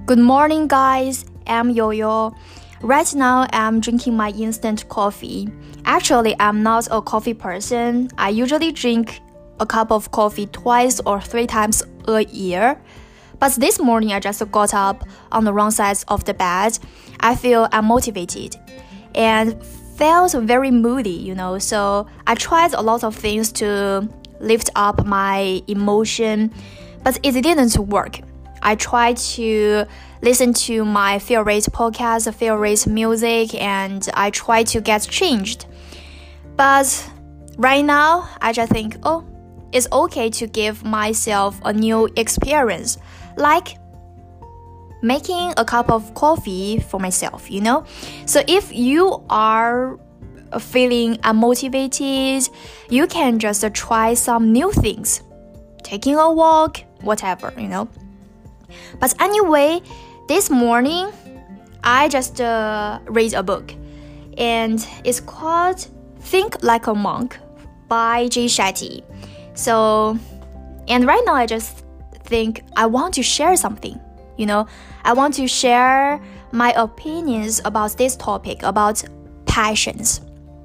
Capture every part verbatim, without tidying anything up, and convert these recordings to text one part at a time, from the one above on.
Good morning, guys. I'm Yo-Yo. Right now, I'm drinking my instant coffee. Actually, I'm not a coffee person. I usually drink a cup of coffee twice or three times a year. But this morning, I just got up on the wrong side of the bed. I feel unmotivated and felt very moody, you know. So I tried a lot of things to lift up my emotion, but it didn't work. I tried to listen to my favorite podcast, favorite music, and I tried to get changed. But right now, I just think, oh, it's okay to give myself a new experience, like making a cup of coffee for myself, you know? So if you are feeling unmotivated, you can just try some new things, taking a walk, whatever, you know? But anyway, this morning, I just uh, read a book, and it's called Think Like a Monk by Jay Shetty. So, and right now I just think I want to share something, you know, I want to share my opinions about this topic, about passions.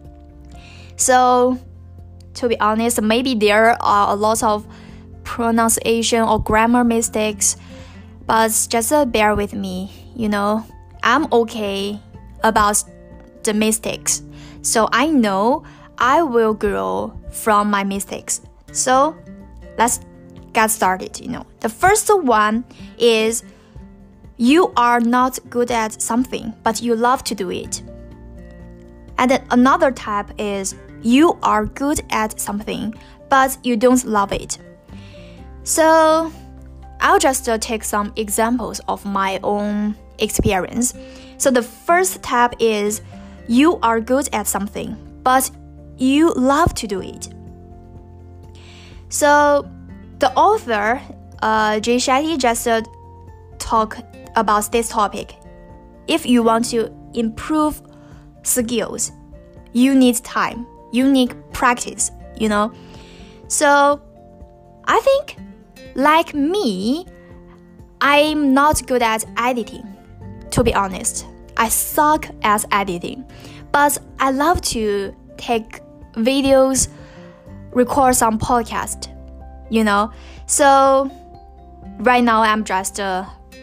So, to be honest, maybe there are a lot of pronunciation or grammar mistakes, but just uh, bear with me, you know, I'm okay about the mistakes. So I know I will grow from my mistakes. So let's get started, you know. The first one is you are not good at something, but you love to do it. And then another type is you are good at something, but you don't love it. So I'll just uh, take some examples of my own experience. So the first type is you are good at something, but you love to do it. So the author, uh, Jay Shetty, just uh, talk about this topic. If you want to improve skills, you need time, you need practice, you know. So I think, like me, I'm not good at editing, to be honest. I suck at editing, but I love to take videos, record some podcast, you know. So right now I'm just uh,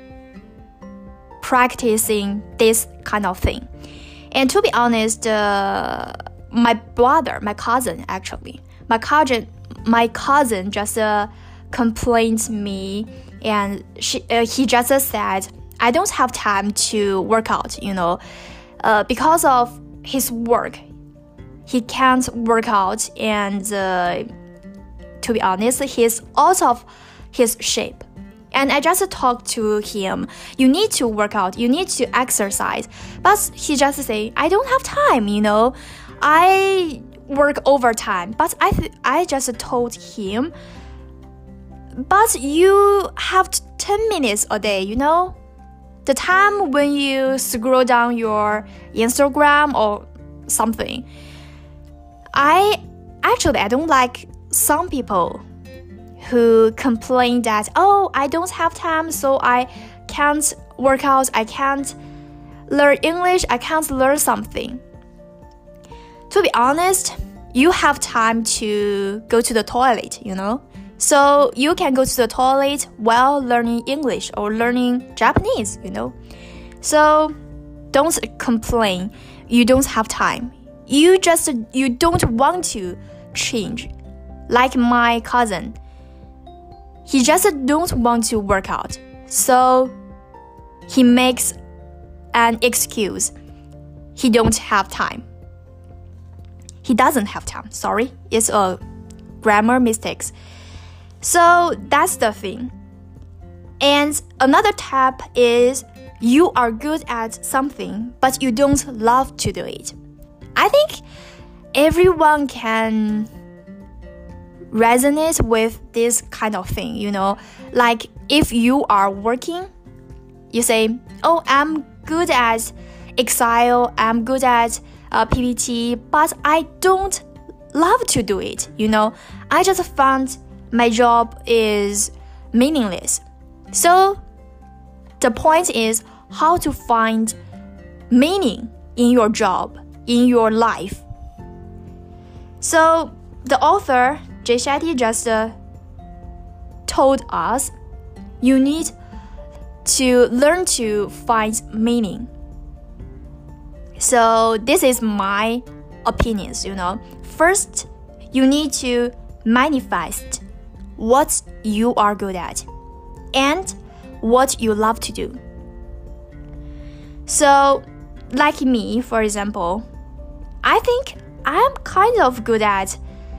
practicing this kind of thing. And to be honest, uh, my brother, my cousin actually, my cousin, my cousin just uh, complained me, and she, uh, he just said, I don't have time to work out, you know, uh, because of his work, he can't work out, and uh, to be honest, he's out of his shape. And I just talked to him, you need to work out, you need to exercise, but he just say, I don't have time, you know, I work overtime. But I, th- I just told him, but you have ten minutes a day, you know? The time when you scroll down your Instagram or something. I actually, I don't like some people who complain that, oh, I don't have time, so I can't work out, I can't learn English, I can't learn something. To be honest, you have time to go to the toilet, you know? So you can go to the toilet while learning English or learning Japanese, you know. So don't complain. You don't have time. You just, you don't want to change. Like my cousin, he just don't want to work out. So he makes an excuse. He don't have time. He doesn't have time. Sorry, it's a grammar mistakes. So that's the thing. And another type is you are good at something, but you don't love to do it. I think everyone can resonate with this kind of thing, you know. Like if you are working, you say, oh, I'm good at Excel, I'm good at uh, P P T, but I don't love to do it, you know. I just found my job is meaningless. So the point is how to find meaning in your job, in your life. So the author, Jay Shetty, just uh, told us you need to learn to find meaning. So this is my opinions, you know. First, you need to manifest what you are good at and what you love to do. So, like me, for example, I think I'm kind of good at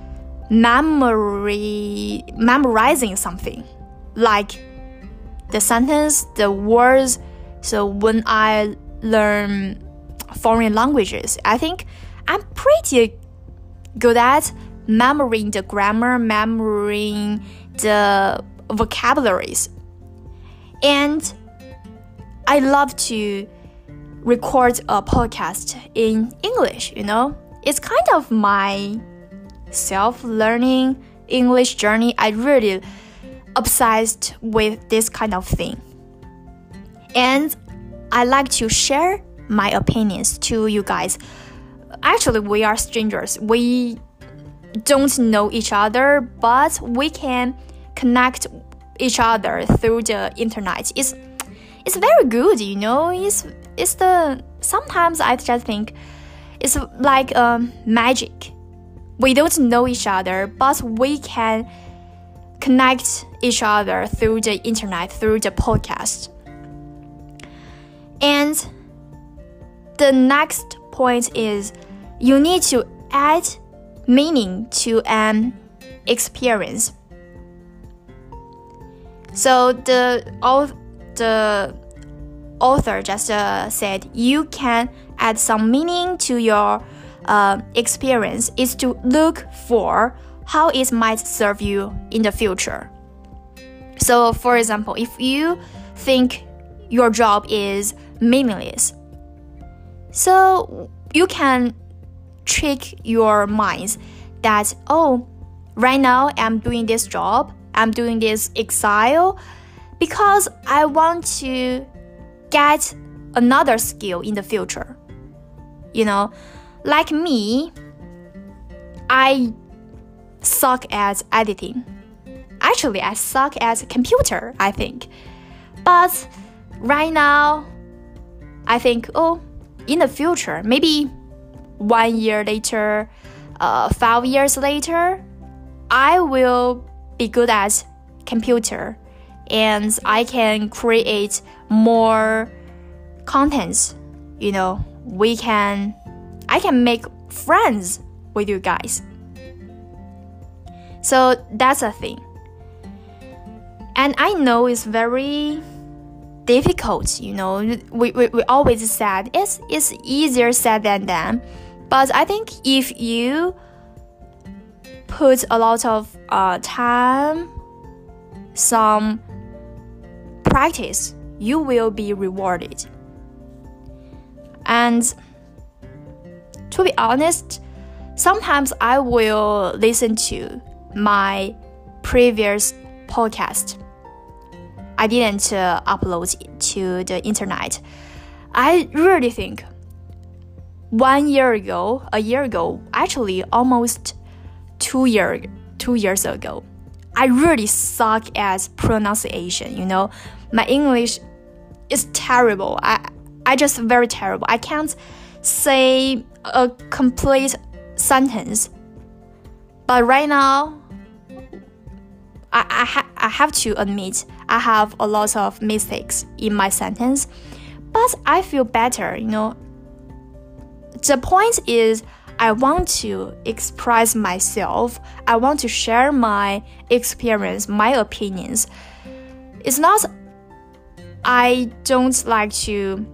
memory memorizing something, like the sentence, the words. So when I learn foreign languages, I think I'm pretty good at memorizing the grammar, memorizing the vocabularies. And I love to record a podcast in English, you know. It's kind of my self-learning English journey. I really obsessed with this kind of thing. And I like to share my opinions to you guys. Actually, we are strangers. We don't know each other, but we can connect each other through the internet. It's it's very good, you know. It's it's the sometimes I just think it's like um, magic. We don't know each other, but we can connect each other through the internet, through the podcast. And the next point is you need to add meaning to an experience. So the the author just uh, said you can add some meaning to your uh, experience is to look for how it might serve you in the future. So for example, if you think your job is meaningless, so you can trick your minds that, oh, right now I'm doing this job, I'm doing this exile because I want to get another skill in the future. You know, like me, I suck at editing. Actually, I suck at computer, I think. But right now, I think, oh, in the future, maybe one year later, uh, five years later, I will be good at computer and I can create more contents. You know, we can, I can make friends with you guys. So that's a thing. And I know it's very difficult, you know, we, we, we always said it's, it's easier said than done. But I think if you put a lot of uh, time, some practice, you will be rewarded. And to be honest, sometimes I will listen to my previous podcast. I didn't uh, upload it to the internet. I really think one year ago, a year ago, actually almost two year, two years ago, I really suck at pronunciation. You know, my English is terrible. I, I just very terrible. I can't say a complete sentence. But right now, I, I, ha- I have to admit, I have a lot of mistakes in my sentence, but I feel better, you know. The point is, I want to express myself. I want to share my experience, my opinions. It's not, I don't like to,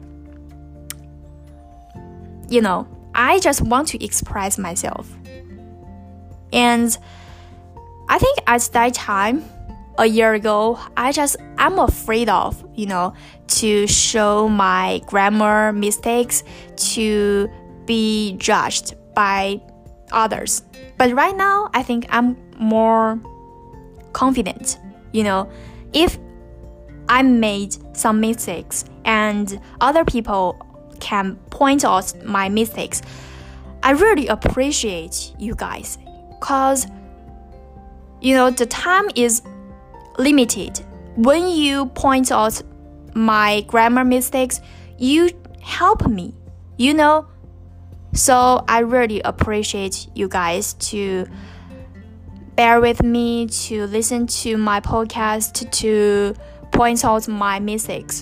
you know, I just want to express myself. And I think at that time, a year ago, I just, I'm afraid of, you know, to show my grammar mistakes, to be judged by others. But right now, I think I'm more confident, you know. If I made some mistakes and other people can point out my mistakes, I really appreciate you guys, because you know the time is limited. When you point out my grammar mistakes, you help me, you know. So I really appreciate you guys to bear with me, to listen to my podcast, to point out my mistakes.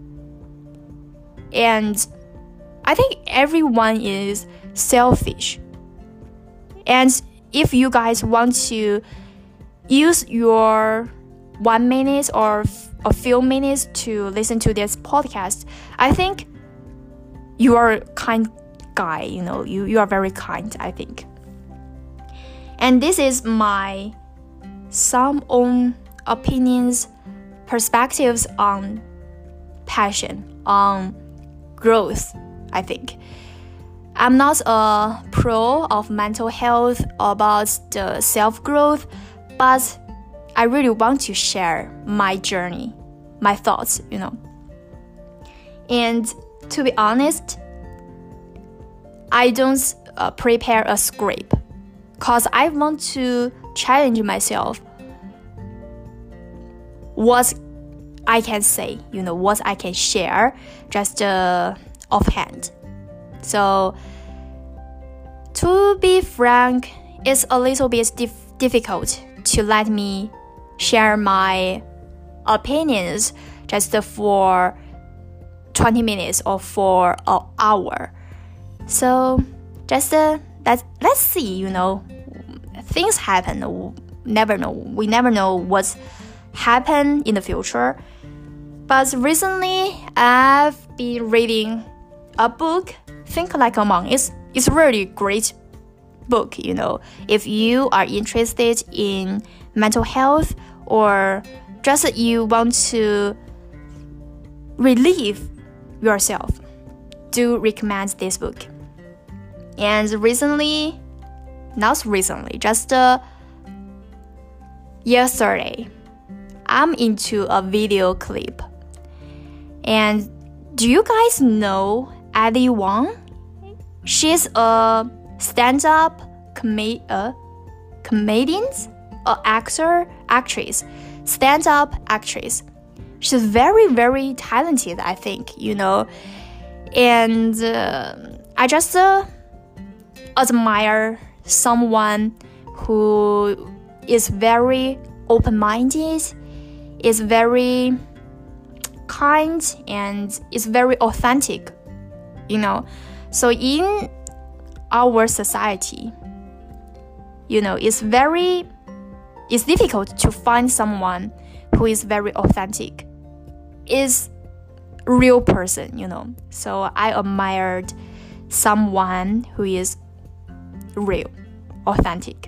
And I think everyone is selfish. And if you guys want to use your one minute or a few minutes to listen to this podcast, I think you are a kind guy, you know, you, you are very kind, I think. And this is my some own opinions, perspectives on passion, on growth, I think. I'm not a pro of mental health about the self-growth, but I really want to share my journey, my thoughts, you know. And to be honest, I don't uh, prepare a script because I want to challenge myself what I can say, you know, what I can share just uh, offhand. So, to be frank, it's a little bit dif- difficult to let me share my opinions just for twenty minutes or for an hour. So, just uh, let's, let's see, you know, things happen. Never know. We never know what's happen in the future. But recently, I've been reading a book, Think Like a Monk. It's, it's a really great book, you know. If you are interested in mental health or just you want to relieve yourself, do recommend this book. And recently, not recently, just uh, yesterday, I'm into a video clip. And do you guys know Ali Wong? She's a stand-up com- uh, comedian, a actor, actress, stand-up actress. She's very, very talented, I think, you know. And uh, I just uh, admire someone who is very open-minded, is very kind, and is very authentic, you know. So in our society, you know, it's very, it's difficult to find someone who is very authentic, is real person, you know. So I admired someone who is real, authentic.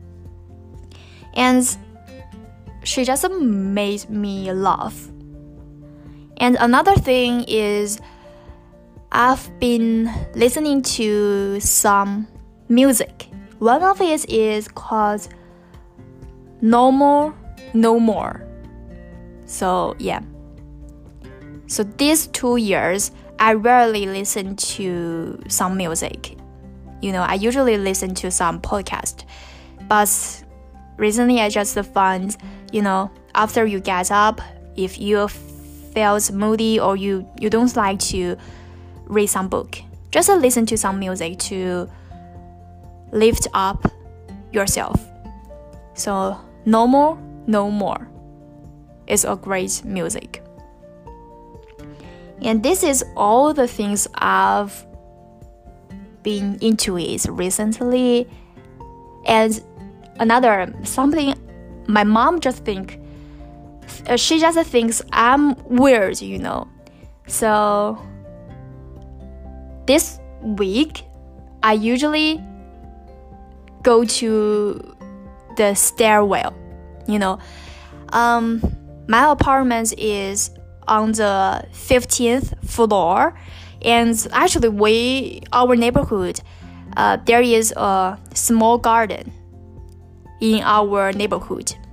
And she just made me laugh. And another thing is I've been listening to some music. One of it is called No More, No More. So yeah. So these two years, I rarely listen to some music. You know, I usually listen to some podcast. But recently I just found, you know, after you get up, if you felt moody or you, you don't like to read some book, just listen to some music to lift up yourself. So No More, No More is a great music. And this is all the things I've been into it recently. And another something my mom just think uh, she just thinks I'm weird, you know. So this week I usually go to the stairwell, you know. Um, my apartment is on the fifteenth floor, and actually we our neighborhood uh, there is a small garden in our neighborhood.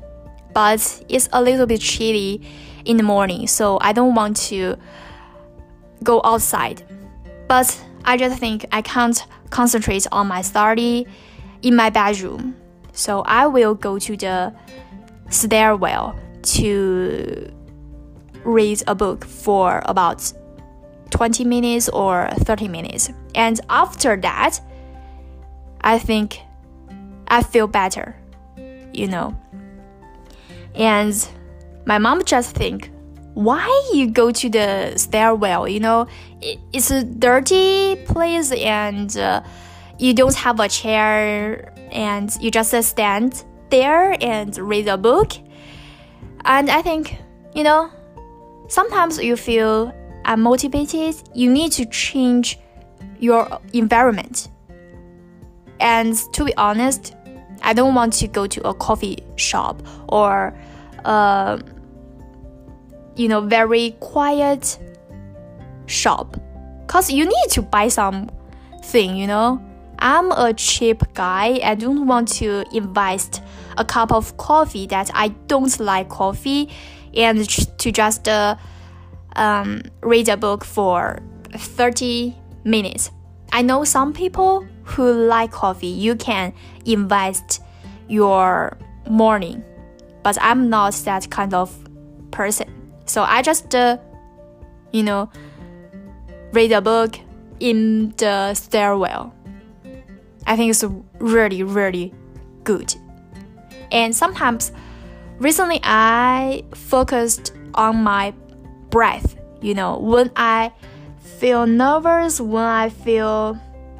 but it's a little bit chilly in the morning, so I don't want to go outside. But I just think I can't concentrate on my study in my bedroom, so I will go to the stairwell to read a book for about twenty minutes or thirty minutes. And after that, I think I feel better, you know. And my mom just think, why you go to the stairwell? You know, it, it's a dirty place, and uh, you don't have a chair, and you just uh, stand there and read a book. And I think, you know, sometimes you feel unmotivated. You need to change your environment. And to be honest, I don't want to go to a coffee shop or uh, you know, very quiet shop, because you need to buy something, you know. I'm a cheap guy. I don't want to invest a cup of coffee that I don't like coffee and to just uh, um, read a book for thirty minutes. I know some people who like coffee. You can invest your morning, but I'm not that kind of person. So I just, uh, you know, read a book in the stairwell. I think it's really, really good. And sometimes, recently I focused on my breath. You know, when I feel nervous, when I feel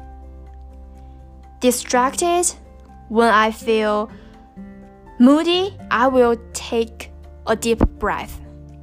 distracted, when I feel moody, I will take a deep breath.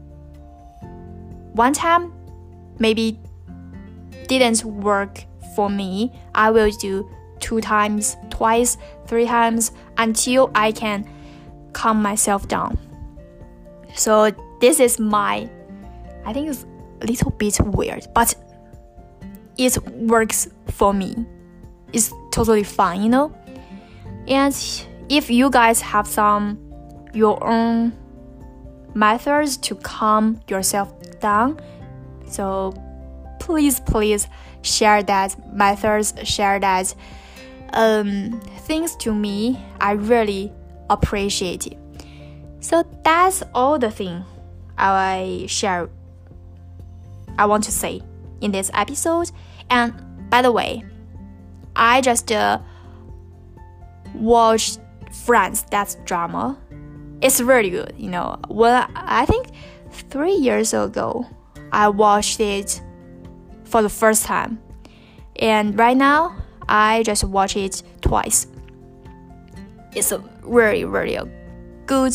One time, maybe didn't work for me. I will do two times, twice, three times until I can calm myself down. So this is my, I think it's a little bit weird, but it works for me. It's totally fine, you know? And if you guys have some your own methods to calm yourself down, so please, please share that methods, share that um, things to me. I really appreciate it. So that's all the thing I share. I want to say in this episode. And by the way, I just uh, watched Friends, that drama. It's really good, you know. Well, I think three years ago, I watched it for the first time. And right now, I just watch it twice. It's a really, really a good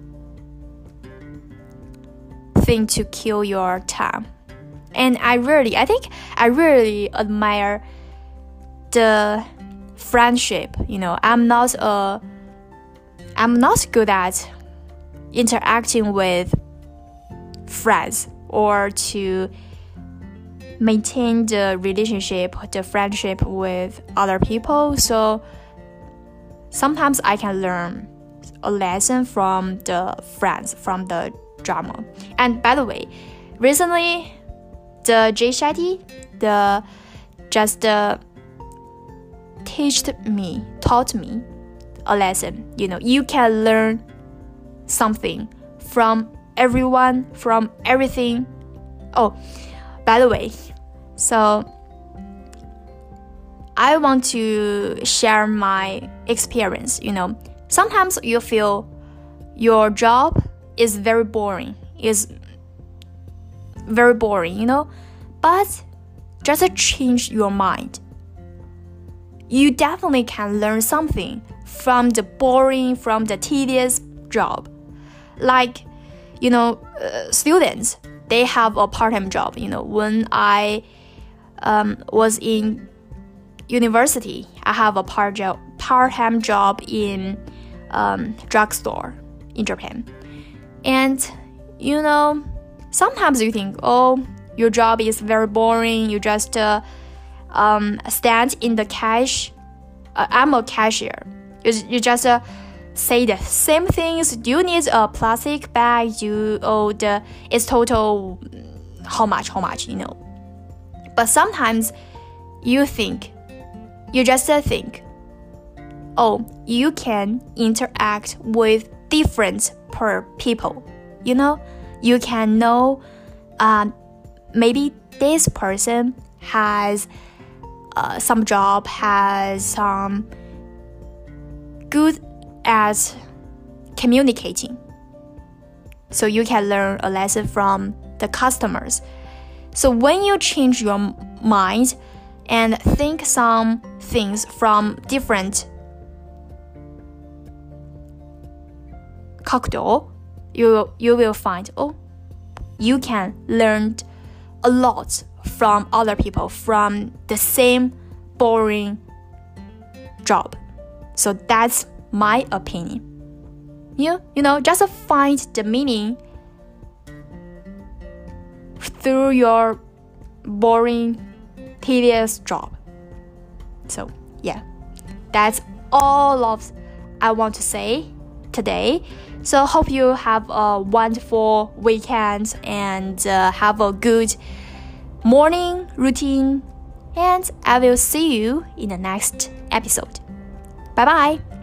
thing to kill your time. And I really, I think I really admire the friendship. You know, I'm not a, I'm not good at interacting with friends or to maintain the relationship, the friendship with other people. So sometimes I can learn a lesson from the friends, from the drama. And by the way, recently, the Jay Shetty, the just uh, taught me, taught me a lesson. You know, you can learn something from everyone, from everything. Oh, by the way, so I want to share my experience. You know, sometimes you feel your job is very boring, is very boring, you know, but just change your mind. You definitely can learn something from the boring, from the tedious job. Like, you know, uh, students, they have a part-time job. You know, when I um, was in university, I have a part job, part-time job in um, drugstore in Japan. And, you know, sometimes you think, oh, your job is very boring. You just uh, um, stand in the cash. Uh, I'm a cashier. You, you just uh, say the same things. Do you need a plastic bag? You oh the it's total how much how much you know. But sometimes you think, you just think, oh, you can interact with different per people. You know, you can know um, maybe this person has uh, some job, has some good at communicating. So you can learn a lesson from the customers. So when you change your mind and think some things from different 角度, you, you will find, oh, you can learn a lot from other people from the same boring job. So that's my opinion. You, you know, just find the meaning through your boring, tedious job. So yeah, that's all of I want to say today. So hope you have a wonderful weekend and uh, have a good morning routine. And I will see you in the next episode. Bye bye.